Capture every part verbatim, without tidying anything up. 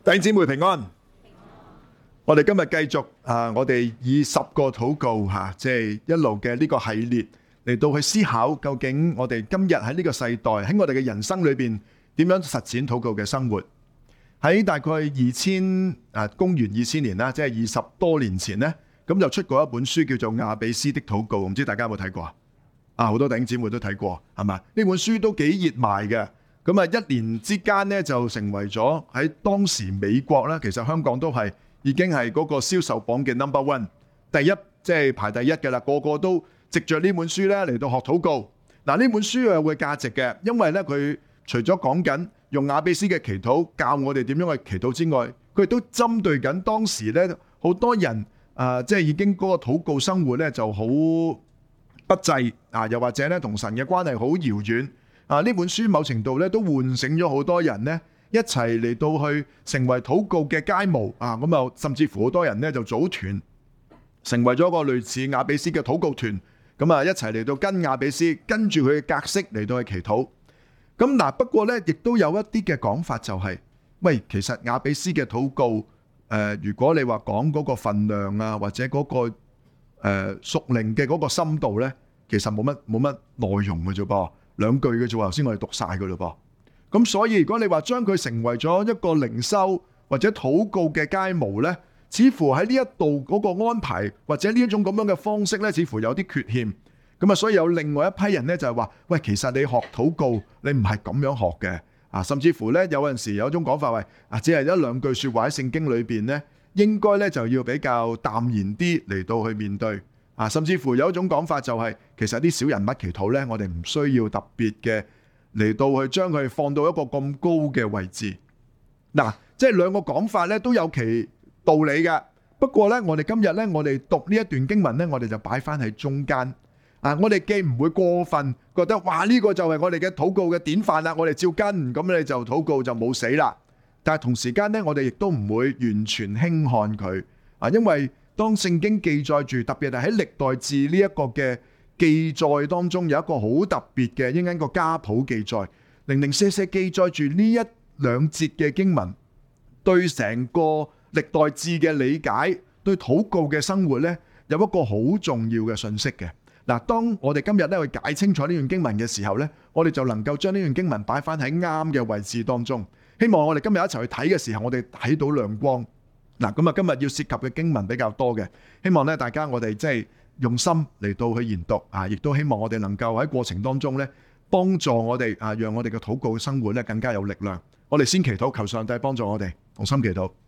弟兄姊妹平安。我哋今日繼續啊，我哋以十個禱告吓，即係一路嘅呢個系列嚟到去思考，究竟我哋今日喺呢個世代喺我哋嘅人生裏邊點樣實踐禱告嘅生活。喺大概二千啊公元二千年啦，即係二十多年前呢，咁就出過一本書叫做《雅比斯的禱告》，唔知大家有冇睇過啊？好多弟兄姊妹都睇過，係嘛？呢本書都幾熱賣嘅。咁啊，一年之間咧就成為咗喺當時美國啦，其實香港都係已經係嗰個銷售榜嘅 number one 第一，即係排第一嘅啦。個個都藉着呢本書咧嚟到學禱告。嗱，呢本書有個價值嘅，因為咧佢除咗講緊用雅比斯嘅祈禱教我哋點樣去祈禱之外，佢亦都針對緊當時咧好多人啊，即係已經嗰個禱告生活咧就好不濟啊，又或者咧同神嘅關係好遙遠。啊！呢本書某程度咧都喚醒咗好多人咧，一齊嚟到去成為禱告嘅楷模啊！咁啊，甚至乎好多人咧就組團，成為咗一個類似雅比斯嘅禱告團。咁啊，一齊嚟到跟雅比斯，跟住佢嘅格式嚟到去祈禱。咁嗱，不過咧，亦都有一啲嘅講法就係，喂，其實雅比斯嘅禱告，誒，如果你話講嗰個分量啊，或者嗰個誒屬靈嘅嗰個深度咧，其實冇乜冇乜內容嘅啫噃。兩句嘅啫喎，頭先我哋讀晒嘅嘞噃。咁所以如果你話將佢成為咗一個靈修或者禱告嘅楷模咧，似乎喺呢一度嗰個安排或者呢一種咁樣嘅方式咧，似乎有啲缺陷。咁啊，所以有另外一批人咧就係話，喂，其實你學禱告，你唔係咁樣學嘅啊。甚至乎咧，有陣時有一種講法話，啊，只係一兩句説話喺聖經裏邊咧，應該咧就要比較淡然啲嚟到去面對。啊，甚至乎有一種講法就係、是，其實啲小人物祈禱咧，我哋唔需要特別嘅嚟到去將佢放到一個咁高嘅位置。嗱、啊，即係兩個講法咧都有其道理嘅。不過咧，我哋今日咧，我哋讀呢一段經文咧，我哋就擺翻喺中間。啊，我哋既唔會過分覺得，哇，呢、這個就係我哋嘅禱告嘅典範啦，我哋照跟，咁你就禱告就冇死啦。但係同時間咧，我哋亦都唔會完全輕看佢。啊，因為當聖經記載住，特別係喺歷代志呢一個嘅記載當中，有一個好特別嘅，應該個家譜記載，零零舍舍記載住呢一兩節嘅經文，對成個歷代志嘅理解，對禱告嘅生活呢，有一個好重要嘅信息嘅。嗱，當我哋今日咧去解清楚呢段經文嘅時候呢，我哋就能夠將呢段經文擺翻喺啱嘅位置當中。希望我哋今日一齊去睇嘅時候，我哋睇到亮光。嗱，咁啊，今日要涉及嘅經文比較多嘅，希望咧大家我哋即係用心嚟到去研讀啊，亦都希望我哋能夠喺過程當中咧幫助我哋啊，讓我哋嘅禱告生活咧更加有力量。我哋先祈禱，求上帝幫助我哋，同心祈禱。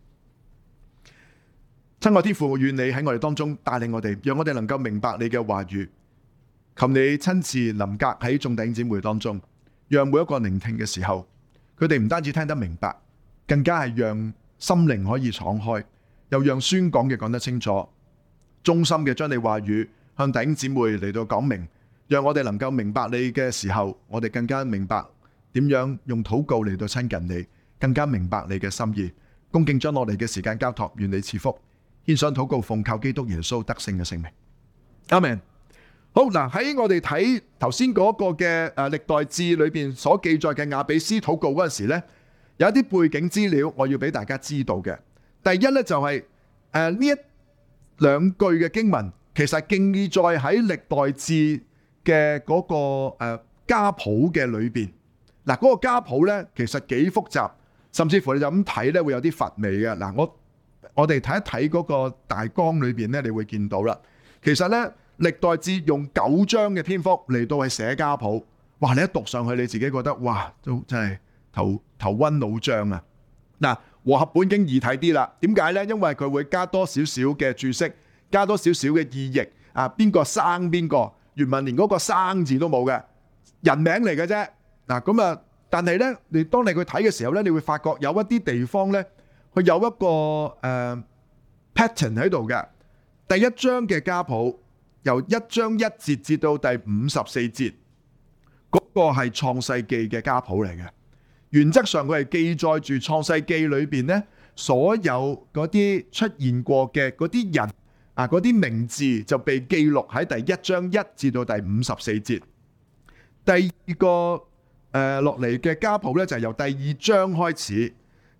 親愛天父，願你喺我哋當中帶領我哋，讓我哋能夠明白你嘅話語。求你親自臨格喺眾弟兄姊妹當中，讓每一個聆聽嘅時候，佢哋唔單止聽得明白，更加係讓心靈可以敞開，又讓宣講嘅講得清楚，衷心嘅將你話語向弟兄姊妹嚟到講明，讓我哋能夠明白你嘅時候，我哋更加明白點樣用禱告嚟到親近你，更加明白你嘅心意。恭敬將我哋嘅時間交託，願你賜福。獻上禱告，奉靠基督耶穌得勝嘅聖名。阿們。好嗱，喺我哋睇頭先嗰個嘅誒歷代志裏邊所記載嘅雅比斯禱告嗰陣時咧，有一啲背景資料我要俾大家知道嘅。第一咧就係誒呢一兩句嘅經文，其實記載喺歷代志嘅嗰個誒家譜嘅裏邊。嗱，嗰個家譜咧其實幾複雜，甚至乎你就咁睇咧會有啲乏味嘅。嗱，我我哋睇一睇嗰個大綱裏邊咧，你會見到啦。其實咧歷代志用九章嘅篇幅嚟到去寫家譜，哇！你一讀上去，你自己覺得哇，都真係頭頭暈腦脹啊！嗱，和合本經易睇啲啦，點解呢？因為佢會加多少少嘅注釋，加多少少嘅意譯啊，邊個生邊個，原文連嗰個生字都冇嘅，人名嚟嘅啫。嗱，咁啊，但係呢，你當你去睇嘅時候呢，你會發覺有一啲地方呢，佢有一個誒、呃、pattern 喺度嘅。第一章嘅家譜由一章一節至到第五十四節，嗰個係創世記嘅家譜嚟嘅。原則上佢係記載住創世記裏邊呢所有嗰啲出現過嘅嗰啲人啊，嗰啲名字就被記錄喺第一章一至到第五十四節。第二個誒落嚟嘅家譜咧就係由第二章開始，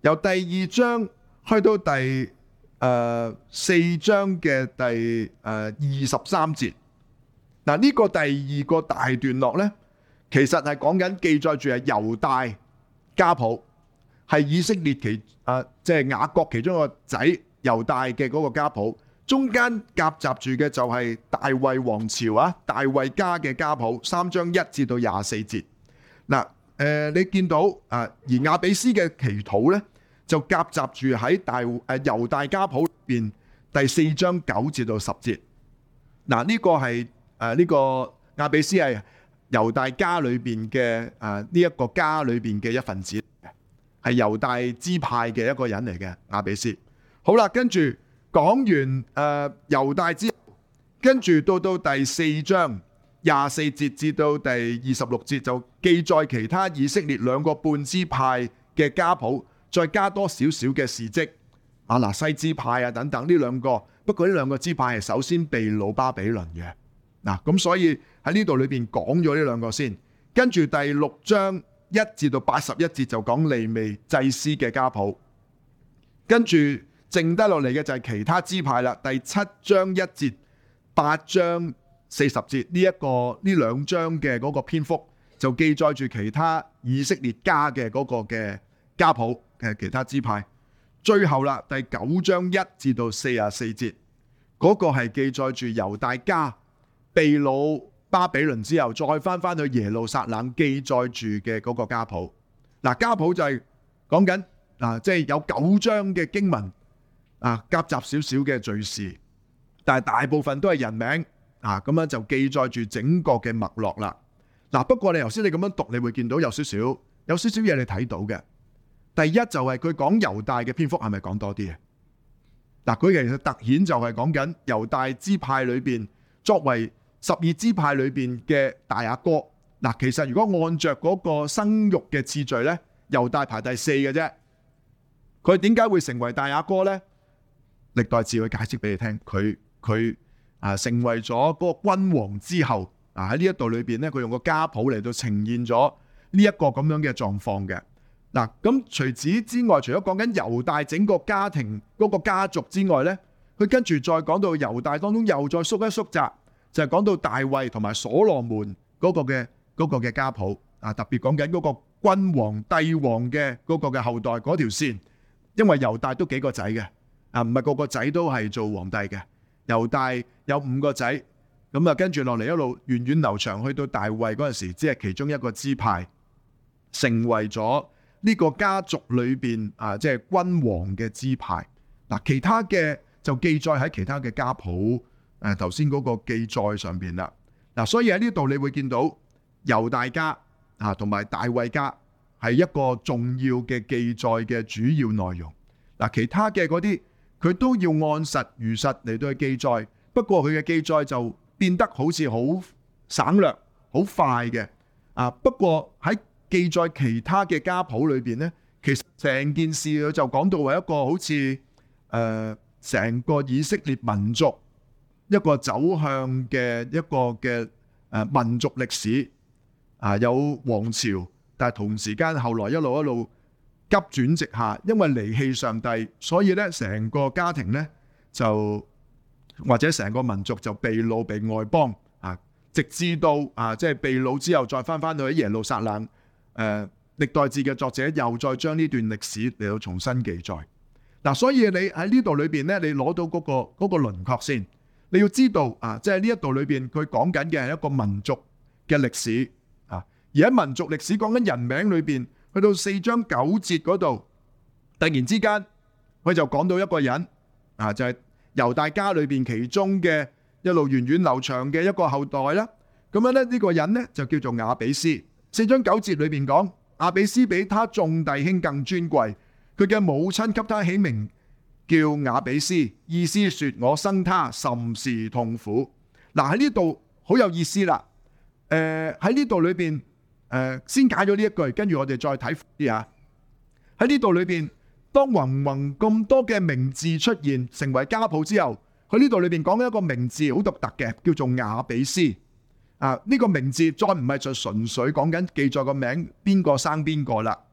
由第二章去到第誒、呃、四章嘅第誒二十三節。嗱，呢個第二個大段落咧，其實係講緊記載住係猶大家譜，係以色列其誒即係雅各其中一個仔猶大嘅嗰個家譜，中間夾雜住嘅就係大衛王朝啊，大衛家嘅家譜，三章一至到廿四節。嗱，誒你見到啊，而亞比斯嘅祈禱咧，就夾雜住喺大誒猶大家譜入邊第四章九至到十節。嗱，呢個係。誒呢個亞比斯係猶大家裏邊嘅誒呢一個家裏邊嘅一份子，係猶大支派嘅一個人嚟嘅亞比斯。好啦，跟住講完誒、呃、猶大之後，跟住到到第四章廿四節至到第二十六節就記載其他以色列兩個半支派嘅家譜，再加多少少嘅事蹟，亞拿西支派啊等等呢兩個。不過呢兩個支派係首先被擄巴比倫嘅。嗱，咁所以喺呢度裏邊講咗呢兩個先，跟住第六章一至到八十一節就講利未祭司嘅家譜，跟住剩低落嚟嘅就係其他支派啦。第七章一節、八章四十節呢一個呢兩章嘅嗰個篇幅就記載住其他以色列家嘅嗰個嘅家譜嘅其他支派。最後啦，第九章一至到四十四節嗰個係記載住猶大家被擄巴比倫之後，再翻翻去耶路撒冷記載住嘅嗰個家譜。嗱，家譜就係講緊嗱，即係有九章嘅經文啊，夾雜少少嘅敘事，但係大部分都係人名啊，咁樣就記載住整個嘅脈絡啦。嗱，不過你頭先你咁樣讀，你會見到有少少有少少嘢你睇到嘅。第一就係佢講猶大嘅篇幅係咪講多啲嘅？嗱，佢其實突顯就係講緊猶大支派裏邊作為十二支派裏邊嘅大阿哥。嗱，其實如果按着嗰個生育嘅次序咧，猶大排第四嘅啫。佢點解會成為大阿哥咧？歷代志會解釋俾你聽。佢佢啊成為咗嗰個君王之後，啊喺呢一度裏邊咧，佢用個家譜嚟到呈現咗呢一個咁樣嘅狀況嘅。嗱，咁除此之外，除咗講緊猶大整個家庭嗰個家族之外咧，佢跟住再講到猶大當中又再縮一縮窄。就係講到大衛同埋所羅門嗰個嘅嗰個嘅家譜啊，特別講緊嗰個君王帝王嘅嗰個嘅後代嗰條線，因為猶大都幾個仔嘅啊，唔係個個仔都係做皇帝嘅。猶大有五個仔，咁啊跟住落嚟一路源遠流長，去到大衛嗰陣時，只係其中一個支派，成為咗呢個家族裏邊啊，即係君王嘅支派。嗱，其他嘅就記載喺其他嘅家譜。誒頭先嗰個記載上邊啦，嗱，所以喺呢度你會見到猶大家啊同埋大衛家係一個重要嘅記載嘅主要內容。嗱，其他嘅嗰啲佢都要按實如實嚟到去記載，不過佢嘅記載就變得好似好省略、好快嘅啊。不過喺記載其他嘅家譜裏邊咧，其實成件事佢就講到係一個好似誒成個以色列民族一個走向嘅一個嘅誒民族歷史啊，有王朝，但係同時間後來一路一路急轉直下，因為離棄上帝，所以咧成個家庭咧就或者成個民族就被擄被外邦啊，直至到啊即係被擄之後再翻翻到喺耶路撒冷。誒歷代志嘅作者又再將呢段歷史嚟到重新記載。嗱，所以你喺呢度裏邊咧，你攞到嗰個嗰個輪廓先。你要知道啊，即係呢一度裏邊佢講緊嘅係一個民族嘅歷史啊，而喺民族歷史講緊人名裏邊，去到四章九節嗰度，突然之間佢就講到一個人啊，就係猶大家裏邊其中嘅一路源遠流長嘅一個後代啦。咁樣咧，呢個人咧就叫做亞比斯。四章九節裏邊講，亞比斯比他眾弟兄更尊貴，佢嘅母親給他起名叫亞比斯，意思說我生他甚是痛苦。嗱，喺呢度好有意思啦。誒喺呢度裏邊誒先解咗呢一句，跟住我哋再睇啲啊。喺呢度裏邊，當宏宏咁多嘅名字出現成為家譜之後，喺呢度裏邊講緊一個名字好獨特嘅，叫做亞比斯。啊，呢個名字再唔係就純粹講緊記載個名邊個生邊個啦。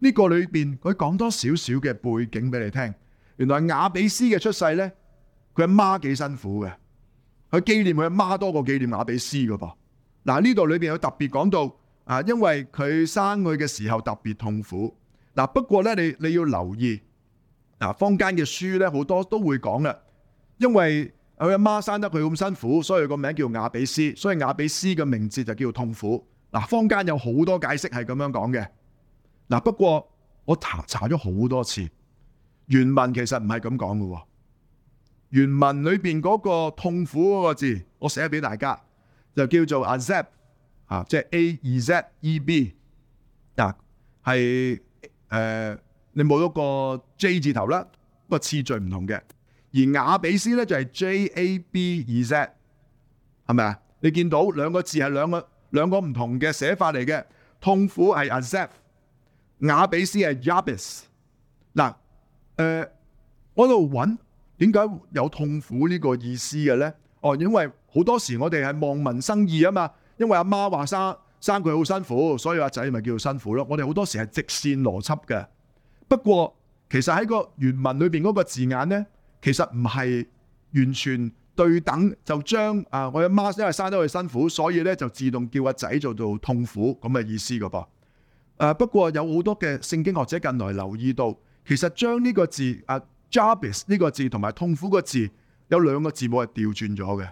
呢個裏邊佢講多少少嘅背景俾你聽。原來雅比斯嘅出世咧，佢阿媽幾辛苦嘅，佢紀念佢阿媽多過紀念雅比斯噶噃。嗱，呢度裏邊有特別講到啊，因為佢生佢嘅時候特別痛苦。嗱，不過咧你你要留意，嗱，坊間嘅書咧好多都會講啦，因為佢阿媽生得佢咁辛苦，所以個名叫雅比斯，所以雅比斯嘅名字就叫痛苦。嗱，坊間有好多解釋係咁樣講嘅。嗱，不過我查查咗好多次，原文其實唔係咁講嘅。原文裏邊嗰個痛苦嗰個字，我寫俾大家，就叫做 Azeb 啊，即係 A E Z E B 嗱，係誒你冇咗個 J 字頭啦，個次序唔同嘅。而雅比斯咧就係 J A B E Z， 係咪啊？你見到兩個字係兩個兩個唔同嘅寫法嚟嘅，痛苦係 Azeb， 雅比斯係 Jabez。嗱，誒，我喺度揾點解有痛苦呢個意思嘅咧？哦，因為好多時我哋係望文生義啊嘛，因為阿媽話生生佢好辛苦，所以阿仔咪叫做辛苦咯。我哋好多時係直線邏輯嘅。不過其實喺個原文裏邊嗰個字眼咧，其實唔係完全對等，就將啊我阿媽因為生得佢辛苦，所以咧就自動叫阿仔做做痛苦咁嘅意思噶噃。誒，不過有好多嘅聖經學者近來留意到，其實將呢個字啊 Jabez 呢個字同埋痛苦個字有兩個字母係調轉咗嘅，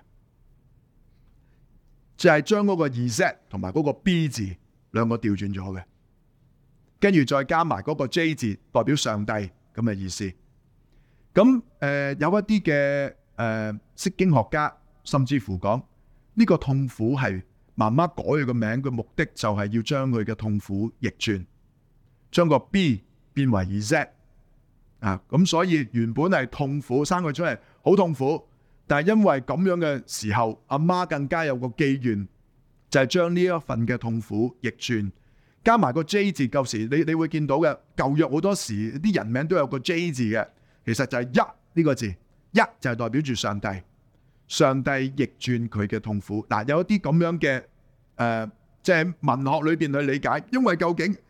就係將嗰個 Z 同埋嗰個 B 字兩個調轉咗嘅，跟住再加埋嗰個 J 字代表上帝咁嘅意思。咁誒、呃、有一啲嘅誒釋經學家甚至乎講呢個痛苦係媽媽改佢個名嘅目的，就係要將佢嘅痛苦逆轉，將個 B 變為 Z 啊。咁所以原本係痛苦，生佢出嚟好痛苦，但係因為咁樣嘅時候，阿媽更加有個機緣，就係將呢一份嘅痛苦逆轉，加埋個 J 字。舊時你你會見到嘅舊約好多時啲人名都有個 J 字嘅。其實就係一呢個字，一就係代表住上帝，上帝逆轉佢嘅痛苦。嗱，有一啲咁樣嘅誒，即係文學裏邊去理解，因為究竟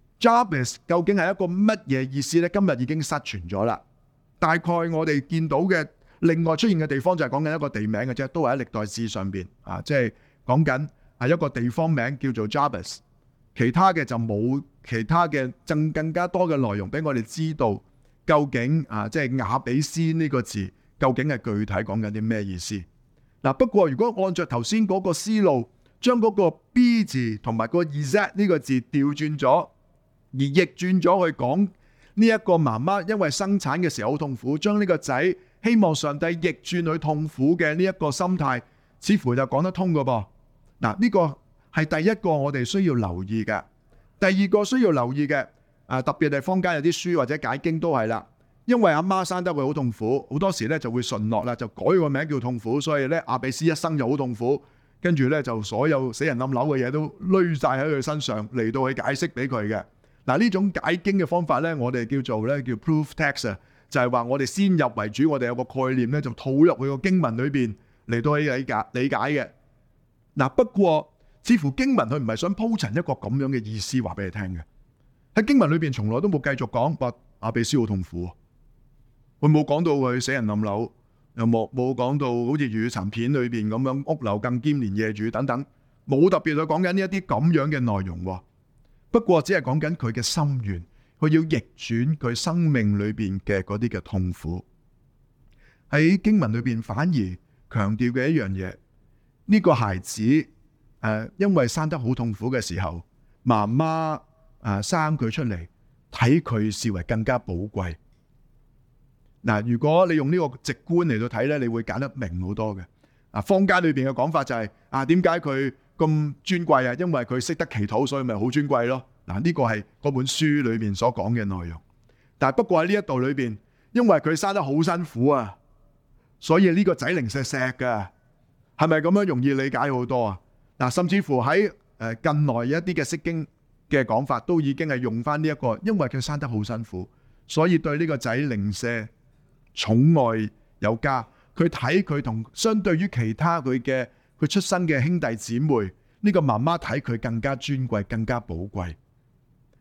Jabez 究竟係一個乜嘢意思咧？今日已經失傳咗啦。大概我哋見到嘅另外出現嘅地方就係講緊一個地名嘅啫，都係喺歷代志上邊啊，即係講緊係一個地方名叫做 Jabez， 其他嘅就冇其他嘅更更加多嘅內容俾我哋知道。究竟啊，即係雅比斯呢個字，究竟係具體講緊啲咩意思？嗱，不過如果按照頭先嗰個思路，將嗰個 B 字同埋個 Z 呢個字調轉咗，而逆轉咗去講呢一個媽媽因為生產嘅時候好痛苦，將呢個仔希望上帝逆轉佢痛苦嘅呢一個心態，似乎就講得通噶噃。嗱，呢個係第一個我哋需要留意嘅。第二個需要留意嘅。啊，特別係坊間有啲書或者解經都係啦，因為阿媽生得佢好痛苦，好多時咧就會順落啦，就改個名叫痛苦，所以咧雅比斯一生就好痛苦，跟住咧就所有死人冧樓嘅嘢都累晒喺佢身上嚟到去解釋俾佢嘅。嗱，呢種解經嘅方法咧，我哋叫做咧叫 proof text 啊，就係話我哋先入為主，我哋有個概念咧就套入去個經文裏邊嚟到去理解理解嘅。嗱，不過似乎經文佢唔係想鋪陳一個咁樣嘅意思話俾你聽嘅。喺經文裏邊從來都冇繼續講話雅比斯好痛苦，佢冇講到佢死人冧樓，又冇冇講到好似粵語殘片裏邊咁樣屋漏更兼連夜雨等等，冇特別去講緊呢一啲咁樣嘅內容。不過只係講緊佢嘅心願，佢要逆轉佢生命裏邊嘅嗰啲嘅痛苦。喺經文裏邊反而強調嘅一樣嘢，呢個孩子誒，因為生得好痛苦嘅時候，媽媽。啊！生佢出嚟，睇佢視為更加寶貴。嗱，如果你用呢個直觀嚟到睇咧，你會揀得明好多嘅。啊，坊間裏邊嘅講法就係、是、啊，點解佢咁尊貴啊？因為佢識得祈禱，所以咪好尊貴咯。嗱，呢個係嗰本書裏邊所講嘅內容。但係不過喺呢一度裏邊，因為佢生得好辛苦啊，所以呢個仔零石石噶，係咪咁樣容易理解好多啊？嗱，甚至乎喺誒近來一啲嘅釋經嘅講法都已經係用翻呢一個，因為佢生得好辛苦，所以對呢個仔零舍寵愛有加。佢睇佢同相對於其他佢嘅佢出生嘅兄弟姊妹，呢個媽媽睇佢更加尊貴，更加寶貴。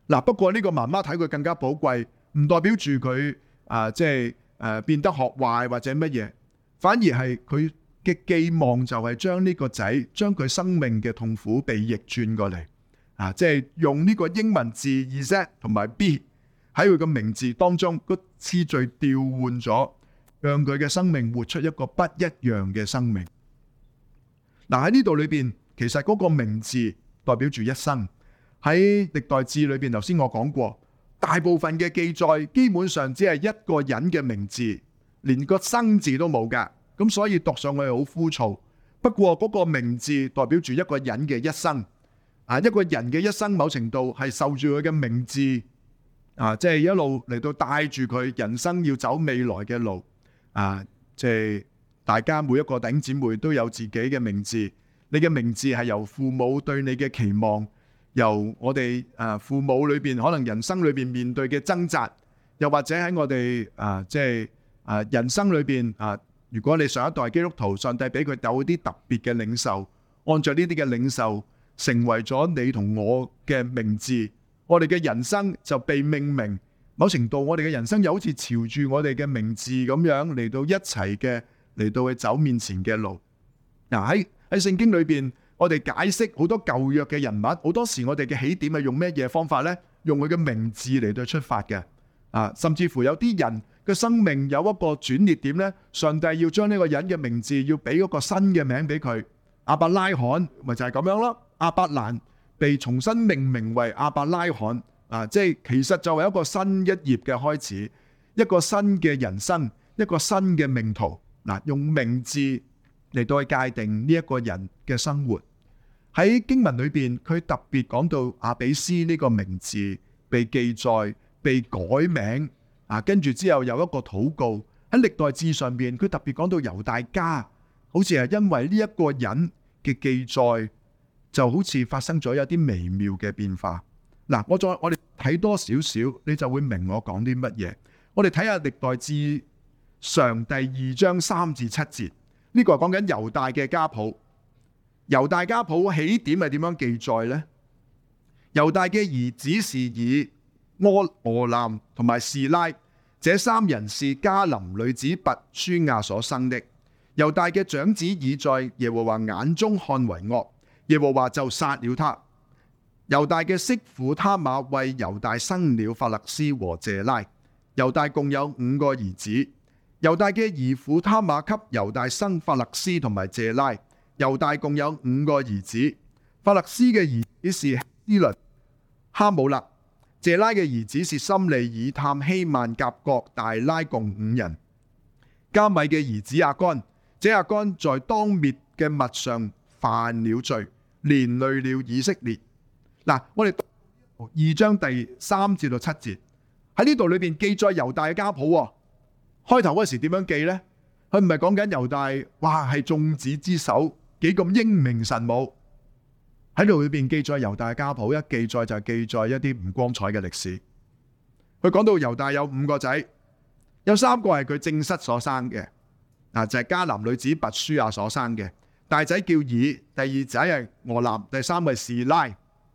嗱，不過呢個媽媽睇佢更加寶貴，唔代表住佢啊，即係誒變得學壞或者乜嘢，反而係佢嘅寄望就係將呢個仔，將佢生命嘅痛苦被逆轉過嚟啊！即係用呢個英文字 Z 同埋 B 喺佢個名字當中個次序調換咗，讓佢嘅生命活出一個不一樣嘅生命。嗱，喺呢度裏邊，其實嗰個名字代表住一生。喺歷代志裏邊，頭先我講過，大部分嘅記載基本上只係一個人嘅名字，連個生字都冇噶。咁所以讀上去好枯燥。不過嗰個名字代表住一個人嘅一生。啊，一個人嘅一生，某程度係受住佢嘅名字啊，即係一路嚟到帶住佢人生要走未來嘅路。啊，即係大家每一個弟兄姊妹都有自己嘅名字。你嘅名字係由父母對你嘅期望，由我哋啊父母裏邊可能人生裏邊面對嘅掙扎，又或者喺我哋啊即係啊人生裏邊啊，如果你上一代基督徒，上帝俾佢有啲特別嘅領受，按照呢啲嘅領受，成為咗你同我嘅名字，我哋嘅人生就被命名。某程度，我哋嘅人生又好似朝住我哋嘅名字咁樣嚟到一齊嘅嚟到去走面前嘅路。嗱，喺喺聖經裏邊，我哋解釋好多舊約嘅人物，好多時我哋嘅起點係用咩嘢方法呢？用佢嘅名字嚟到出發嘅。啊，甚至乎有啲人嘅生命有一個轉捩點呢，上帝要將呢個人嘅名字要俾一個新嘅名俾佢。亞伯拉罕咪就係咁樣咯。亞伯蘭被重新命名為亞伯拉罕。啊，即係其實就係一個新一頁嘅開始，一個新嘅人生，一個新嘅命途。嗱，用名字嚟到去界定呢一個人嘅生活。喺經文裏邊，佢特別講到亞比斯呢個名字被記載、被改名。啊，跟住之後有一個禱告喺歷代志上邊，佢特別講到猶大家，好似係因為呢一個人嘅記載，就好似發生咗有啲微妙嘅變化。嗱，我再我哋睇多少少，你就會明我講啲乜嘢。我哋睇下歷代志上第二章三至七節，呢個係講緊猶大嘅家譜。猶大家譜起點係點樣記載呢？猶大嘅兒子是以柯、俄南同埋示拉，這三人是迦南女子拔書亞所生的。猶大嘅長子以在耶和華眼中看為惡，耶和華就殺了他。猶大嘅媳婦他瑪為猶大生了法勒斯和謝拉。猶大共有五個兒子。猶大嘅兒婦他瑪給猶大生法勒斯同埋謝拉。猶大共有五個兒子。法勒斯嘅兒子是希斯倫、哈姆勒。謝拉嘅兒子是心利、以探、希曼、甲各、大拉，共五人。加米嘅兒子亞干，這亞干在當滅嘅物上犯了罪，連累了以色列。嗱，我哋二章第三至到七節喺呢度裏邊記載猶大嘅家譜。開頭嗰時點樣記呢？佢唔係講緊猶大，哇係眾子之首，幾咁英明神武。喺度裏邊記載猶大嘅家譜，一記載就係記載一啲唔光彩嘅歷史。佢講到猶大有五個仔，有三個係佢正室所生嘅，嗱就係迦南女子拔書亞所生嘅。大仔叫以，第二仔係俄南，第三位示拉。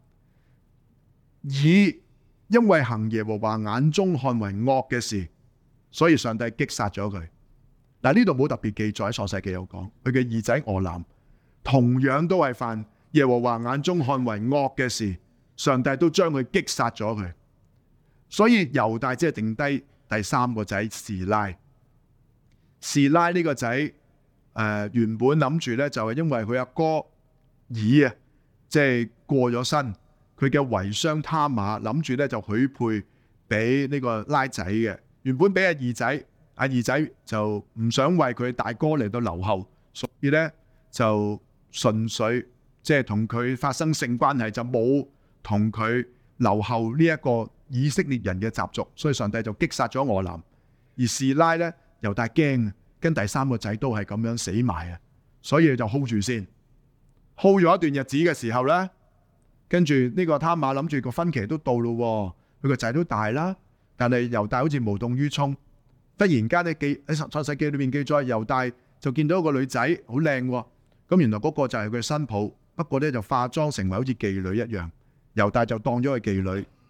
以因為行耶和華眼中看為惡嘅事，所以上帝擊殺咗佢。嗱，呢度冇特別記載，喺創世記有講佢嘅二仔俄南同樣都係犯耶和華眼中看為惡嘅事，上帝都將佢擊殺咗佢。所以猶大只係剩低第三個仔示拉。示拉呢個仔誒、呃、原本諗住咧就係因為佢阿哥以啊，即係過咗身。佢嘅遺孀他瑪諗住咧就許配俾呢個拉仔嘅，原本俾阿二仔，阿二仔就唔想為佢大哥嚟到留後，所以咧就純粹即係同佢發生性關係，就冇同佢留後呢一個以色列人嘅習俗，所以上帝就擊殺咗俄南。而示拉咧猶大驚，跟第三個仔都係咁樣死埋啊，所以就 hold 住先 ，hold 咗一段日子嘅時候咧。跟住呢個他瑪諗住個分期都到咯，佢個仔都大啦，但係猶大好似無動於衷。忽然間咧記喺創世記裏面記載，猶大就見到一個女仔好靚，咁原來嗰個就係佢新抱，不過咧就化妝成為好似妓女一樣。猶大就當咗佢妓女，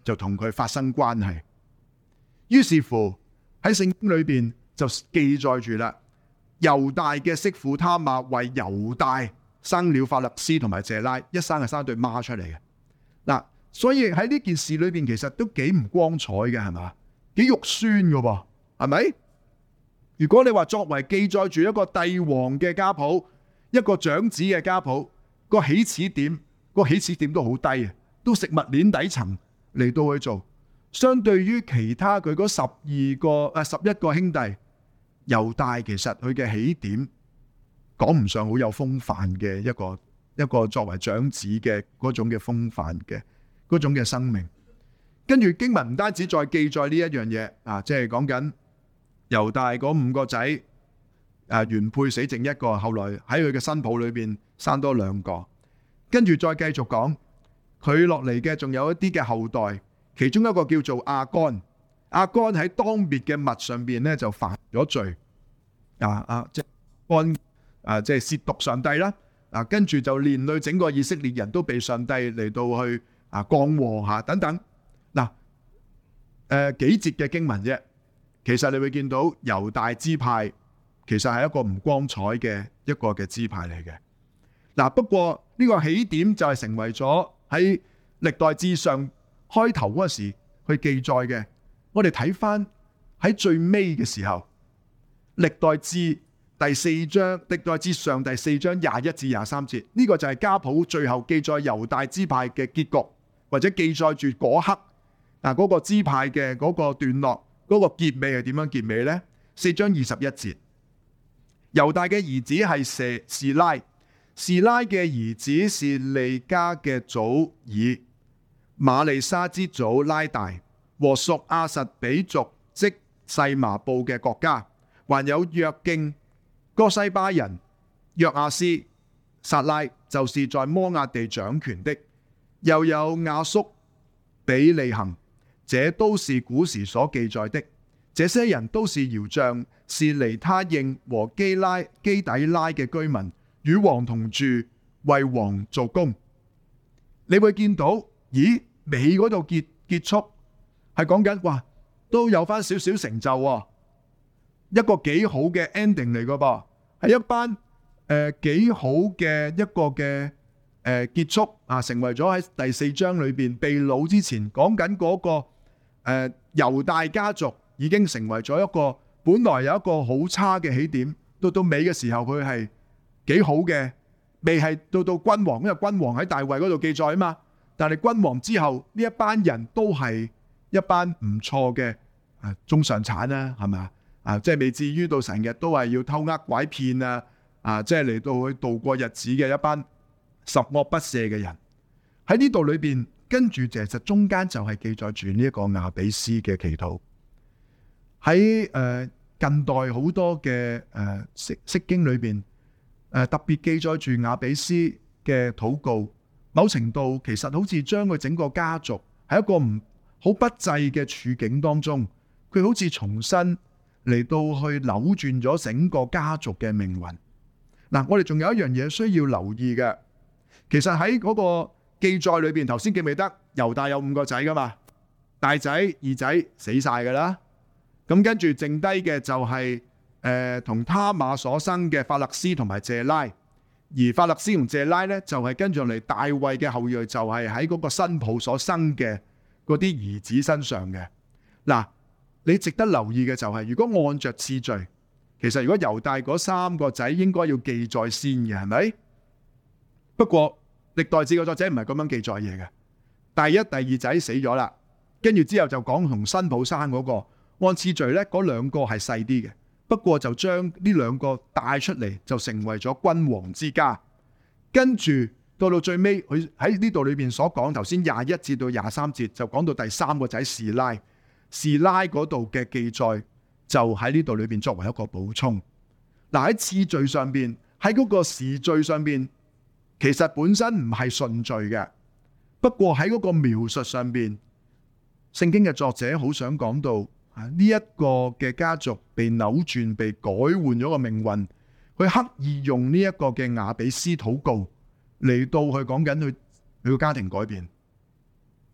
就同佢發生關係。於是乎喺聖經裏邊就記載住啦，猶大嘅媳婦他瑪為猶大生了法勒斯同埋謝拉，一生係生對孖出嚟嘅。嗱，所以喺呢件事裏邊其實都幾唔光彩嘅，係嘛？幾肉酸嘅噃，係咪？如果你話作為記載住一個帝王嘅家譜，一個長子嘅家譜，個起始點，個起始點都好低啊，都食物鏈底層嚟到去做。相對於其他佢嗰十二個誒十一個兄弟，猶大其實佢嘅起點講唔上好有風範嘅一個一個作為長子嘅嗰種嘅風範嘅嗰種嘅生命。跟住經文唔單止再記載呢一樣嘢啊，即係講緊猶大嗰五個仔誒原配死剩一個，後來喺佢嘅新抱裏邊生多兩個，跟住再繼續講佢落嚟嘅仲有一啲嘅後代。其中一個叫做亞干，亞干喺當滅嘅物上邊咧就犯咗罪，啊啊即係干啊即係褻瀆上帝啦，啊跟住就連累整個以色列人都被上帝嚟到去啊降禍吓等等。嗱，誒幾節嘅經文啫，其實你會見到猶大支派其實係一個唔光彩嘅一個嘅支派嚟嘅。嗱，不過呢個起點就係成為咗喺歷代志上開頭嗰時去記載嘅。我哋睇翻喺最尾嘅時候，歷代志第四章，歷代志上第四章廿一至廿三節，呢、這個就係家譜最後記載猶大支派嘅結局，或者記載住嗰刻嗱嗰個支派嘅嗰個段落，嗰、那個結尾係點樣結尾呢？四章二十一節，猶大嘅兒子係舍士拉，士拉嘅兒子是利家嘅祖爾，瑪利沙之祖拉大，和屬亞實比族即細麻布嘅國家，還有約敬、哥西巴人、約亞斯、撒拉，就是在摩押地掌權的，又有亞叔、比利行，這都是古時所記載的。這些人都是窯匠，是尼他應和基拉基底拉嘅居民，與王同住，為王做工。你會見到，咦，尾嗰度結結束係講緊，哇，都有翻少少成就喎，一個幾好嘅 ending 嚟噶噃，係一班誒幾好嘅一個嘅誒結束啊，成為咗喺第四章裏邊被擄之前講緊嗰個誒猶大家族已經成為咗一個本來有一個好差嘅起點，到到尾嘅時候佢係幾好嘅，未係到到君王，因為君王喺大衛嗰度記載啊嘛。但係君王之後呢一班人都係一班唔錯嘅啊中上產啦，係咪啊？即係未至於到成日都係要偷呃拐騙啊啊！即係嚟到去度過日子嘅一班十惡不赦嘅人喺呢度裏邊，跟住其實中間就係記載住呢一個雅比斯嘅祈禱。喺誒近代好多嘅誒釋釋經裏邊誒特別記載住雅比斯嘅禱告。某程度其實好似將佢整個家族喺一個唔好不濟嘅處境當中，佢好似重新嚟到去扭轉咗整個家族嘅命運。嗱，我哋仲有一樣嘢需要留意嘅，其實喺嗰個記載裏邊，頭先記唔記得猶大有五個仔噶嘛？大仔、二仔死晒噶啦，咁跟住剩低嘅就係誒同他瑪所生嘅法勒斯同埋謝拉。而法勒斯同謝拉咧，就係跟住嚟大衛嘅後裔，就係喺嗰個新抱所生嘅嗰啲兒子身上嘅。嗱，你值得留意嘅就係，如果按着次序，其實如果猶大嗰三個仔應該要記載先嘅，係咪？不過歷代志嘅作者唔係咁樣記載嘢嘅。第一、第二仔死咗啦，跟住之後就講同新抱生嗰個，按次序咧，嗰兩個係細啲嘅。不過就將呢兩個帶出嚟，就成為咗君王之家。跟住到到最尾，佢喺呢度裏邊所講，頭先廿一至到廿三節就講到第三個仔示拉，示拉嗰度嘅記載就喺呢度裏邊作為一個補充。嗱，喺次序上邊，喺嗰個時序上邊，其實本身唔係順序嘅。不過喺嗰個描述上邊，聖經嘅作者好想講到。呢一個嘅家族被扭轉、被改換咗個命運，佢刻意用呢一個嘅雅比斯禱告嚟到去講緊佢佢個家庭改變。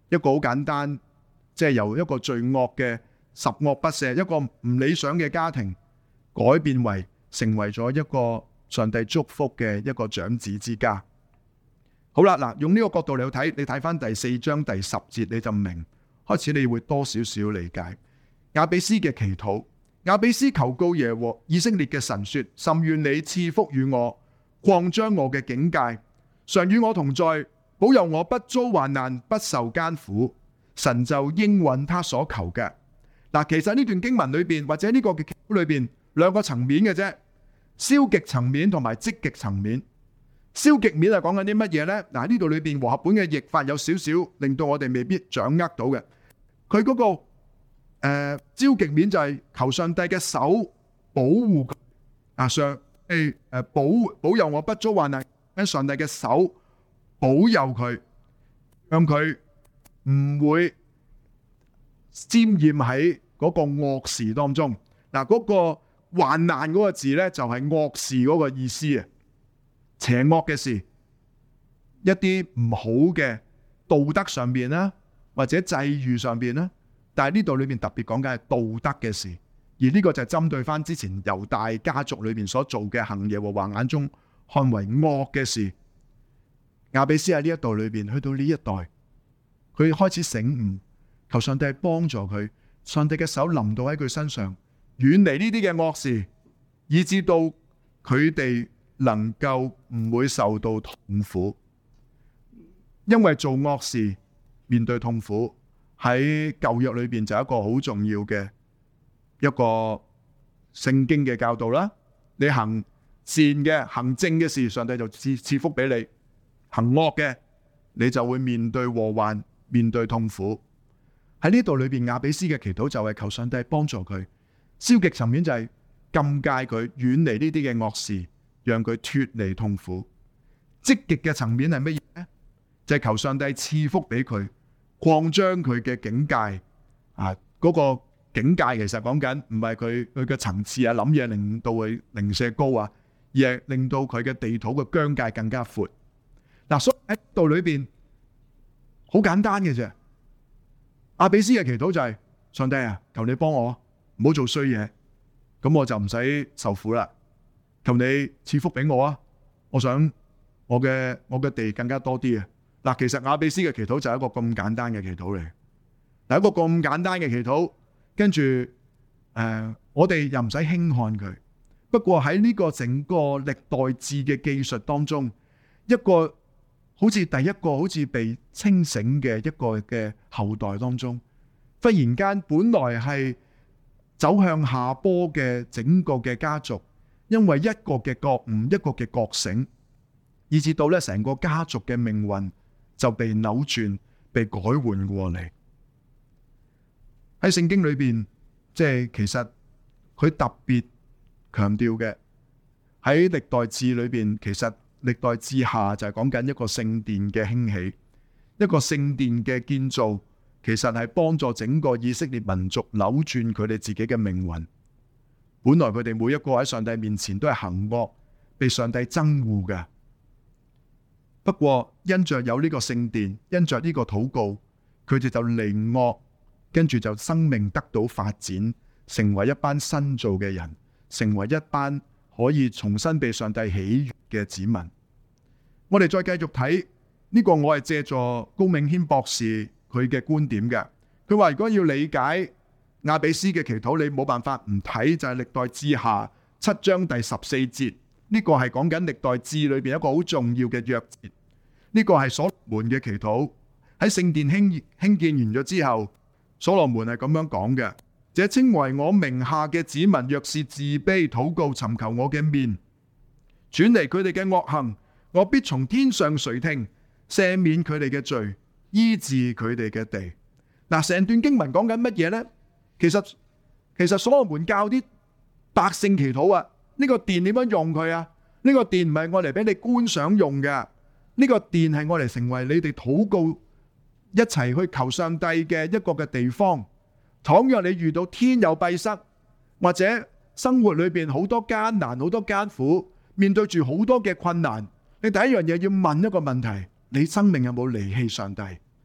一個好簡單，即係由一個罪惡嘅十惡不赦，一個唔理想嘅家庭，改變為成為咗一個上帝祝福嘅一個長子之家。好啦，嗱，用呢個角度嚟睇，你睇翻第四章第十節，你就明，開始你會多少少理解雅比斯嘅祈禱。雅比斯求告耶和以色列嘅神說：甚願你賜福與我，擴張我嘅境界，常與我同在，保佑我不遭患難，不受艱苦。神就應允他所求嘅。嗱，其實呢段經文裏邊或者呢個嘅祈禱裏邊兩個層面嘅啫，消極層面同埋積極層面。消極面係講緊啲乜嘢呢？嗱，呢度裏邊和合本嘅譯法有少少令到我哋未必掌握到嘅。佢嗰、那個誒、呃、消極面就係求上帝嘅手保護佢啊，上誒誒保保佑我不遭患難，喺上帝嘅手保佑佢，讓佢唔會沾染喺嗰個惡事當中。嗱，嗰個患難嗰個字咧就係惡事嗰個意思啊，邪惡嘅事，一啲唔好嘅道德上邊啦，或者際遇上邊啦。但係呢度裏邊特別講緊係道德嘅事，而呢個就係針對翻之前猶大家族裏邊所做嘅行耶和華眼中看為惡嘅事。雅比斯喺呢一度裏邊，去到呢一代，佢開始醒悟，求上帝幫助佢，上帝嘅手臨到喺佢身上，遠離呢啲嘅惡事，以至到佢哋能夠唔會受到痛苦。因為做惡事面對痛苦，喺舊約裏邊就係一個好重要嘅一個聖經嘅教導啦。你行善嘅、行正嘅事，上帝就賜賜福俾你；行惡嘅，你就會面對禍患、面對痛苦。喺呢度裏邊，雅比斯嘅祈禱就係求上帝幫助佢。消極層面就係禁戒佢，遠離呢啲嘅惡事，讓佢脫離痛苦。積極嘅層面係乜嘢呢？就係求上帝賜福俾佢，擴張佢嘅境界。啊，嗰個境界其實講緊唔係佢佢嘅層次啊，諗嘢令到佢零舍高啊，而係令到佢嘅地土嘅疆界更加闊。嗱，所以喺度裏邊好簡單嘅啫。雅比斯嘅祈禱就係上帝啊，求你幫我，唔好做衰嘢，咁我就唔使受苦啦。求你賜福俾我啊！我想我嘅我嘅地更加多啲啊！嗱，其實雅比斯嘅祈禱就係一個咁簡單嘅祈禱嚟。嗱，一個咁簡單嘅祈禱，跟住誒，我哋又唔使輕看佢。不過喺呢個整個歷代志嘅記述當中，一個好似第一個好似被清醒嘅一個嘅後代當中，忽然間本來係走向下坡嘅整個嘅家族，因為一個嘅覺悟，一個嘅覺醒，以至到咧成個家族嘅命運就被扭轉、被改換過嚟。喺聖經裏邊，即係其實佢特別強調嘅，喺歷代志裏邊，其實歷代志下就係講緊一個聖殿嘅興起，一個聖殿嘅建造，其實係幫助整個以色列民族扭轉佢哋自己嘅命運。本來佢哋每一個喺上帝面前都係行惡，被上帝憎惡嘅。不過因着有呢個聖殿，因着呢個禱告，佢哋就離惡，跟住就生命得到發展，成為一班新造嘅人，成為一班可以重新被上帝喜悅嘅子民。我哋再繼續睇呢個，我係借助高銘謙博士佢嘅觀點嘅。佢話如果要理解雅比斯嘅祈禱，你冇辦法唔睇就係歷代志下七章第十四節。呢個係講緊歷代志裏邊一個好重要嘅約節。呢個係所羅門嘅祈禱。喺聖殿興興建完咗之後，所羅門係咁樣講嘅：這稱為我名下嘅子民，若是自卑禱告，尋求我嘅面，轉離佢哋嘅惡行，我必從天上垂聽，赦免佢哋嘅罪，醫治佢哋嘅地。嗱，成段經文講緊乜嘢呢？其實其實所羅門教啲百姓祈禱啊，呢個殿點樣用佢啊？呢個殿唔係我嚟俾你觀賞用嘅，呢個殿係我嚟成為你哋禱告一齊去求上帝嘅一個嘅地方。倘若你遇到天有閉塞，或者生活裏邊好多艱難、好多艱苦，面對住好多嘅困難，你第一樣嘢要問一個問題：你生命有冇離棄上帝？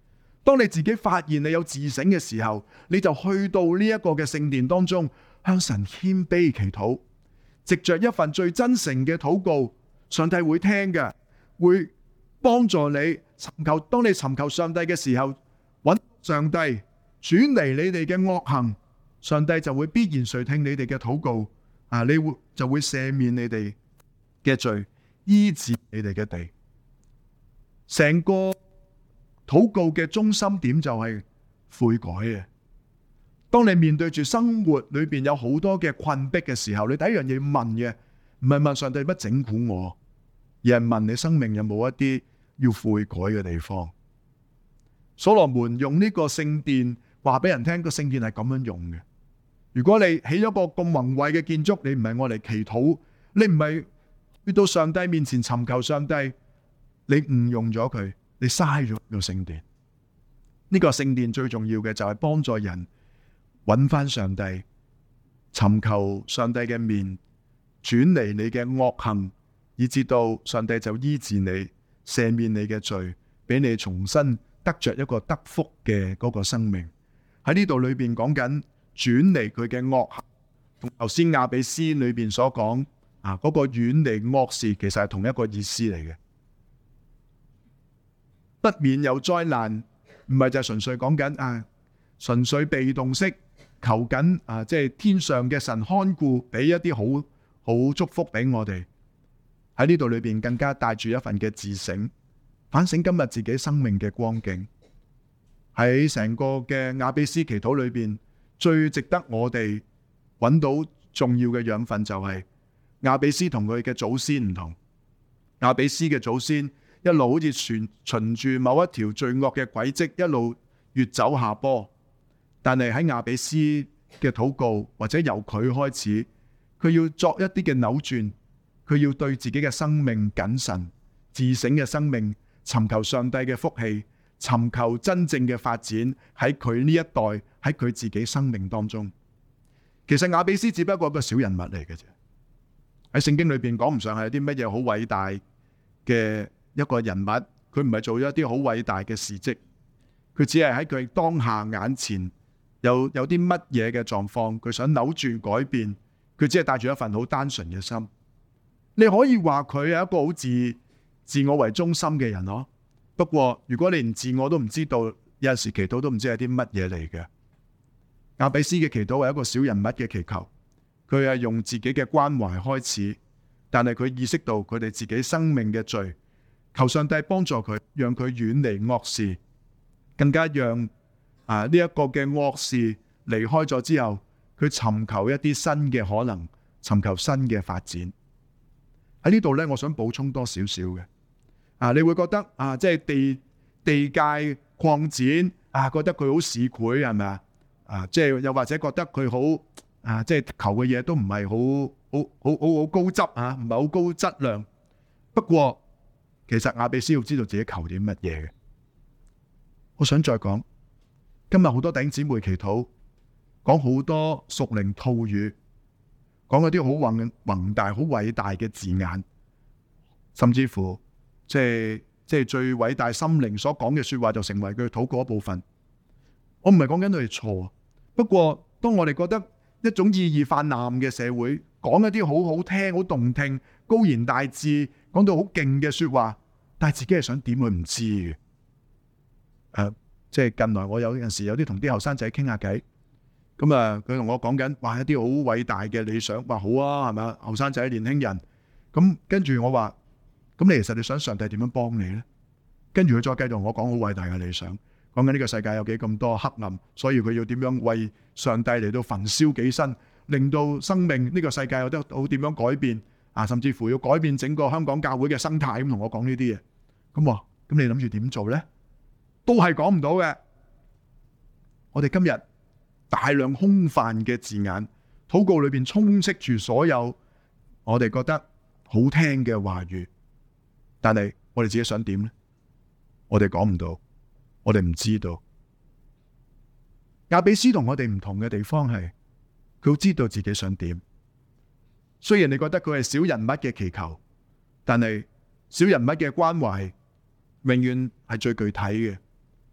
當你自己發現你有自省嘅時候，你就去到呢一個嘅聖殿當中，向神謙卑祈禱，藉着一份最真誠嘅禱告，上帝會聽嘅，會幫助你尋求。當你尋求上帝嘅時候，揾上帝轉離你哋嘅惡行，上帝就會必然垂聽你哋嘅禱告，啊，你會就會赦免你哋嘅罪，醫治你哋嘅地。成個禱告嘅中心點就係悔改嘅。當你面對住生活裏邊有好多嘅困迫嘅時候，你第一樣嘢問嘅唔係問上帝乜整蠱我，而係問你生命有冇一啲要悔改嘅地方。所羅門用呢個聖殿話俾人聽，個聖殿係咁樣用嘅。如果你起咗個咁宏偉嘅建築，你唔係我嚟祈禱，你唔係去到上帝面前尋求上帝，你誤用咗佢，你嘥咗呢個聖殿。呢個聖殿最重要嘅就係幫助人揾翻上帝，尋求上帝嘅面，轉離你嘅惡行，以至到上帝就醫治你，赦免你嘅罪，俾你重新得着一個得福嘅嗰個生命。喺呢度裏邊講緊轉離佢嘅惡行，同頭先雅比斯裏邊所講啊嗰個遠離惡事，其實係同一個意思嚟嘅。不免有災難，唔係就係純粹講緊啊，純粹被動式求緊啊，即係天上嘅神看顧，俾一啲好好祝福俾我哋。喺呢度裏邊更加帶住一份嘅自省，反省今日自己生命嘅光景。喺成個嘅雅比斯祈禱裏邊，最值得我哋揾到重要嘅養分就係雅比斯同佢嘅祖先唔同。雅比斯嘅祖先一路好似循循住某一條罪惡嘅軌跡，一路越走下坡。但係喺雅比斯嘅禱告，或者由佢開始，佢要作一啲嘅扭轉，佢要對自己嘅生命謹慎、自省嘅生命，尋求上帝嘅福氣，尋求真正嘅發展喺佢呢一代，喺佢自己生命當中。其實雅比斯只不過一個小人物嚟嘅啫，喺聖經裏邊講唔上係有啲乜嘢好偉大嘅一個人物，佢唔係做咗一啲好偉大嘅事蹟，佢只係喺佢當下眼前有有啲乜嘢嘅狀況，佢想扭轉改變，佢只係帶住一份好單純嘅心。你可以話佢係一個好自自我為中心嘅人咯。不過如果你連自我都唔知道，有陣時祈禱都唔知係啲乜嘢嚟嘅。雅比斯嘅祈禱係一個小人物嘅祈求，佢係用自己嘅關懷開始，但係佢意識到佢哋自己生命嘅罪，求上帝幫助佢，讓佢遠離惡事，更加讓啊呢一個嘅惡事離開咗之後，佢尋求一啲新嘅可能，尋求新嘅發展。喺呢度呢，我想補充多少少嘅啊，你會覺得啊，即係地地界擴展啊，覺得佢好市儈係咪啊？啊，即係又或者覺得佢好啊，即係求嘅嘢都唔係好好好好好高質啊，唔係好高質量。不過其實雅比斯要知道自己求啲乜嘢嘅。我想再講，今日好多弟兄姊妹祈禱，講好多屬靈套語，講嗰啲好宏宏大、好偉大嘅字眼，甚至乎即係即係最偉大心靈所講嘅說話，就成為佢禱告一部分。我唔係講緊佢哋錯，不過當我哋覺得一種意義泛濫嘅社會，講一啲好好聽、好動聽、高言大智，講到好勁嘅說話，但係自己係想點佢唔知嘅。誒、呃，即係近來我有陣時有啲同啲後生仔傾下偈，咁啊佢同我講緊，話一啲好偉大嘅理想，話好啊，係咪啊？後生仔、年輕人，咁跟住我話，咁你其實你想上帝點樣幫你咧？跟住佢再繼續同我講好偉大嘅理想。講緊呢個世界有幾咁多黑暗，所以佢要點樣為上帝嚟到焚燒己身，令到生命呢個世界有得好點樣改變啊！甚至乎要改變整個香港教會嘅生態，咁同我講呢啲嘢。咁話咁你諗住點做呢？都係講唔到嘅。我哋今日大量空泛嘅字眼，禱告裏邊充斥住所有我哋覺得好聽嘅話語，但係我哋自己想點呢？我哋講唔到。我哋唔知道。雅比斯同我哋唔同嘅地方係，佢好知道自己想點。雖然你覺得佢係小人物嘅祈求，但係小人物嘅關懷永遠係最具體嘅。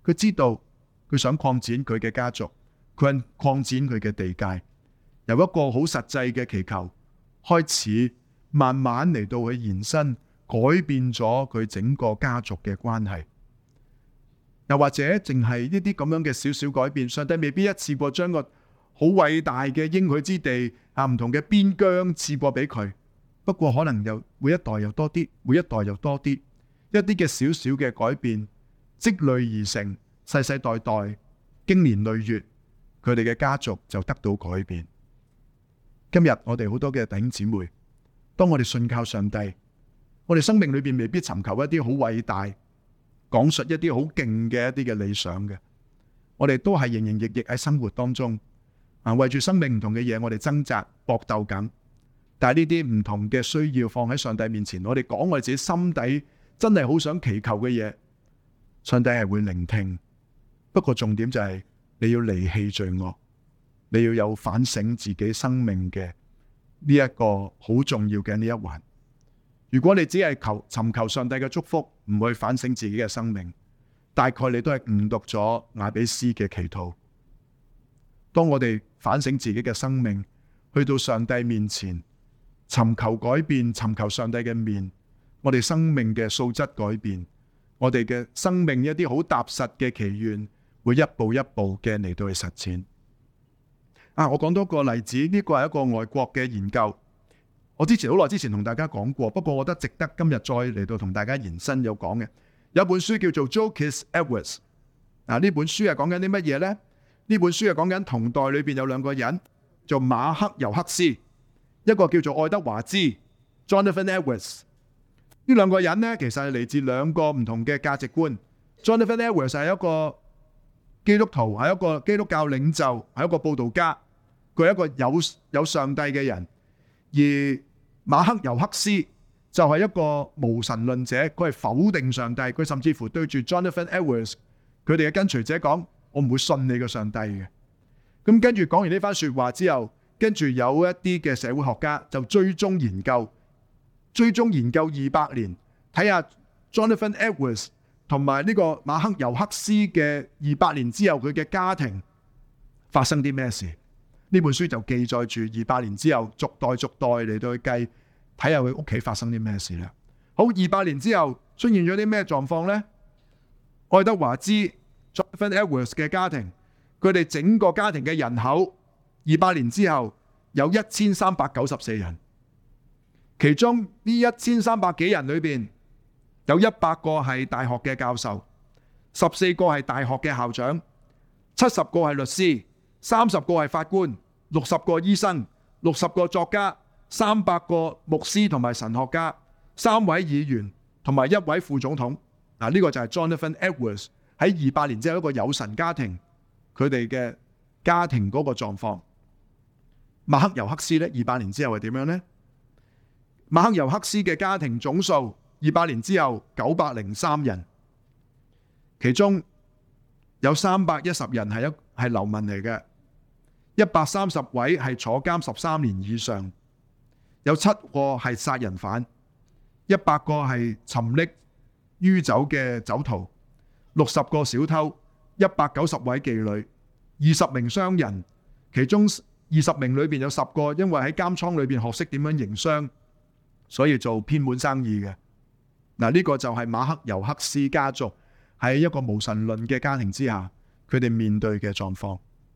佢知道佢想擴展佢嘅家族，佢想擴展佢嘅地界，由一個好實際嘅祈求開始，慢慢嚟到去延伸，改變咗佢整個家族嘅關係。又或者淨係呢啲咁樣嘅少少改變，上帝未必一次過將個好偉大嘅應許之地啊，唔同嘅邊疆賜過俾佢。不過可能又每一代又多啲，每一代又多啲，一啲嘅少少嘅改變積累而成，世世代代經年累月，佢哋嘅家族就得到改變。今日我哋好多嘅弟兄姊妹，當我哋信靠上帝，我哋生命裏邊未必尋求一啲好偉大，講述一啲好勁嘅一啲嘅理想嘅，我哋都係營營役役喺生活當中啊，為住生命唔同嘅嘢，我哋掙扎搏鬥緊。但係呢啲唔同嘅需要放喺上帝面前，我哋講我哋自己心底真係好想祈求嘅嘢，上帝係會聆聽。不過重點就係你要離棄罪惡，你要有反省自己生命嘅呢一個好重要嘅呢一環。如果你只係求尋求上帝嘅祝福，唔去反省自己嘅生命，大概你都係誤讀咗雅比斯嘅祈禱。當我哋反省自己嘅生命，去到上帝面前，尋求改變，尋求上帝嘅面，我哋生命嘅素質改變，我哋嘅生命一啲好踏實嘅祈願，會一步一步嘅嚟到去實踐。啊，我講多個例子，呢個係一個外國嘅研究，我之前好耐之前同大家講過，不過我覺得值得今日再嚟到同大家延伸有講嘅。有本書叫做 Joseph Edwards， 啊，呢本書係講緊啲乜嘢呢？呢本書係講緊同代裏邊有兩個人，做馬克尤克斯。一個叫做愛德華茲 Jonathan Edwards， 呢兩個人呢，其實係嚟自兩個唔同嘅價值觀。Jonathan Edwards 係一個基督徒，係一個基督教領袖，係一個佈道家，佢係一個有有上帝嘅人。而馬克尤克斯就係一個無神論者，佢係否定上帝，佢甚至乎對住 Jonathan Edwards 佢哋嘅跟隨者講：我唔會信你個上帝嘅。咁跟住講完呢番說話之後，跟住有一啲嘅社會學家就追蹤研究，追蹤研究二百年，睇下 Jonathan Edwards 同埋呢個馬克尤克斯嘅二百年之後佢嘅家庭發生啲咩事。呢本書就記載住二百年之後逐代逐代嚟到去計，睇下佢屋企發生啲咩事啦。好，二百年之後出現咗啲咩狀況呢？愛德華茲 Jonathan Edwards 嘅家庭，佢哋整個家庭嘅人口二百年之後有一千三百九十四人，其中呢一千三百幾人裏邊有一百個係大學嘅教授，十四個係大學嘅校長，七十個係律師，三十個係法官，六十個醫生，六十個作家，三百個牧師同埋神學家，三位議員同埋一位副總統。嗱，呢個就係 Jonathan Edwards 喺二百年之後一個有神家庭佢哋嘅家庭嗰個狀況。馬克尤克斯咧，二百年之後係點樣呢？馬克尤克斯嘅家庭總數二百年之後九百零三人，其中有三百一十人係一係流民嚟嘅，一百三十位係坐監十三年以上，有七個係殺人犯，一百個係沉溺酗酒嘅酒徒，六十個小偷，一百九十位妓女，二十名商人，其中二十名裏邊有十個因為喺監倉裏邊學識點樣營商，所以做偏門生意嘅。嗱，呢個就係馬克尤克斯家族喺一個無神論嘅家庭之下，佢哋面對嘅狀況。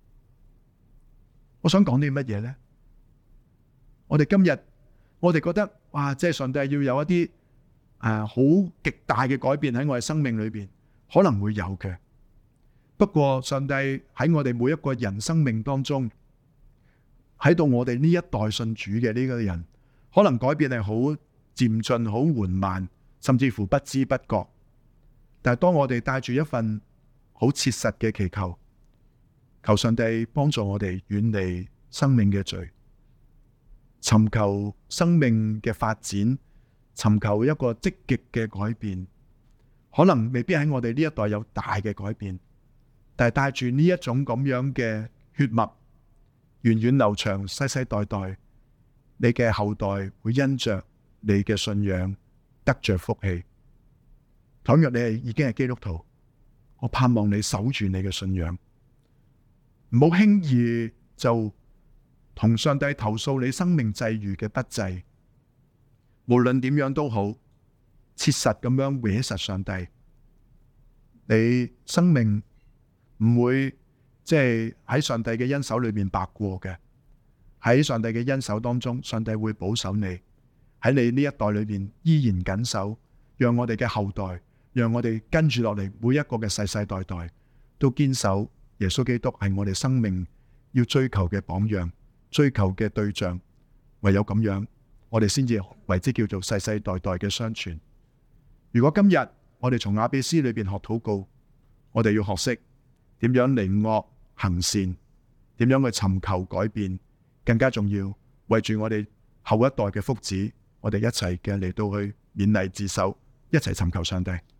我想講啲乜嘢呢？我哋今日我哋覺得哇，即係上帝要有一啲誒好極大嘅改變喺我哋生命裏邊，可能會有嘅。不過上帝喺我哋每一個人生命當中，喺到我哋呢一代信主嘅呢個人，可能改變係好漸進、好緩慢，甚至乎不知不覺。但係當我哋帶住一份好切實嘅祈求，求上帝幫助我哋遠離生命嘅罪，尋求生命嘅發展，尋求一個積極嘅改變，可能未必喺我哋呢一代有大嘅改變，但係帶住呢一種咁樣嘅血脈，源遠流長，世世代代，你嘅後代會因着你嘅信仰得着福氣。倘若你係已經係基督徒， 我盼望你守住你嘅信仰，唔好輕易就同上帝投訴你生命際遇嘅不濟。無論點樣都好，切實咁樣搲實上帝，你生命唔會即係喺上帝嘅恩手裏面白過嘅。喺上帝嘅恩手當中，上帝會保守你，喺你呢一代裏面依然緊守，讓我哋嘅後代，讓我哋跟住落嚟每一個嘅世世代代都堅守耶穌基督係我哋生命要追求嘅榜樣，追求嘅對象。唯有咁樣，我哋先至為之叫做世世代代嘅相傳。如果今日我哋從雅比斯裏邊學禱告，我哋要學識點樣離惡行善，點樣去尋求改變，更加重要為住我哋後一代嘅福祉，我哋一齊嘅嚟到去勉勵自守，一齊尋求上帝。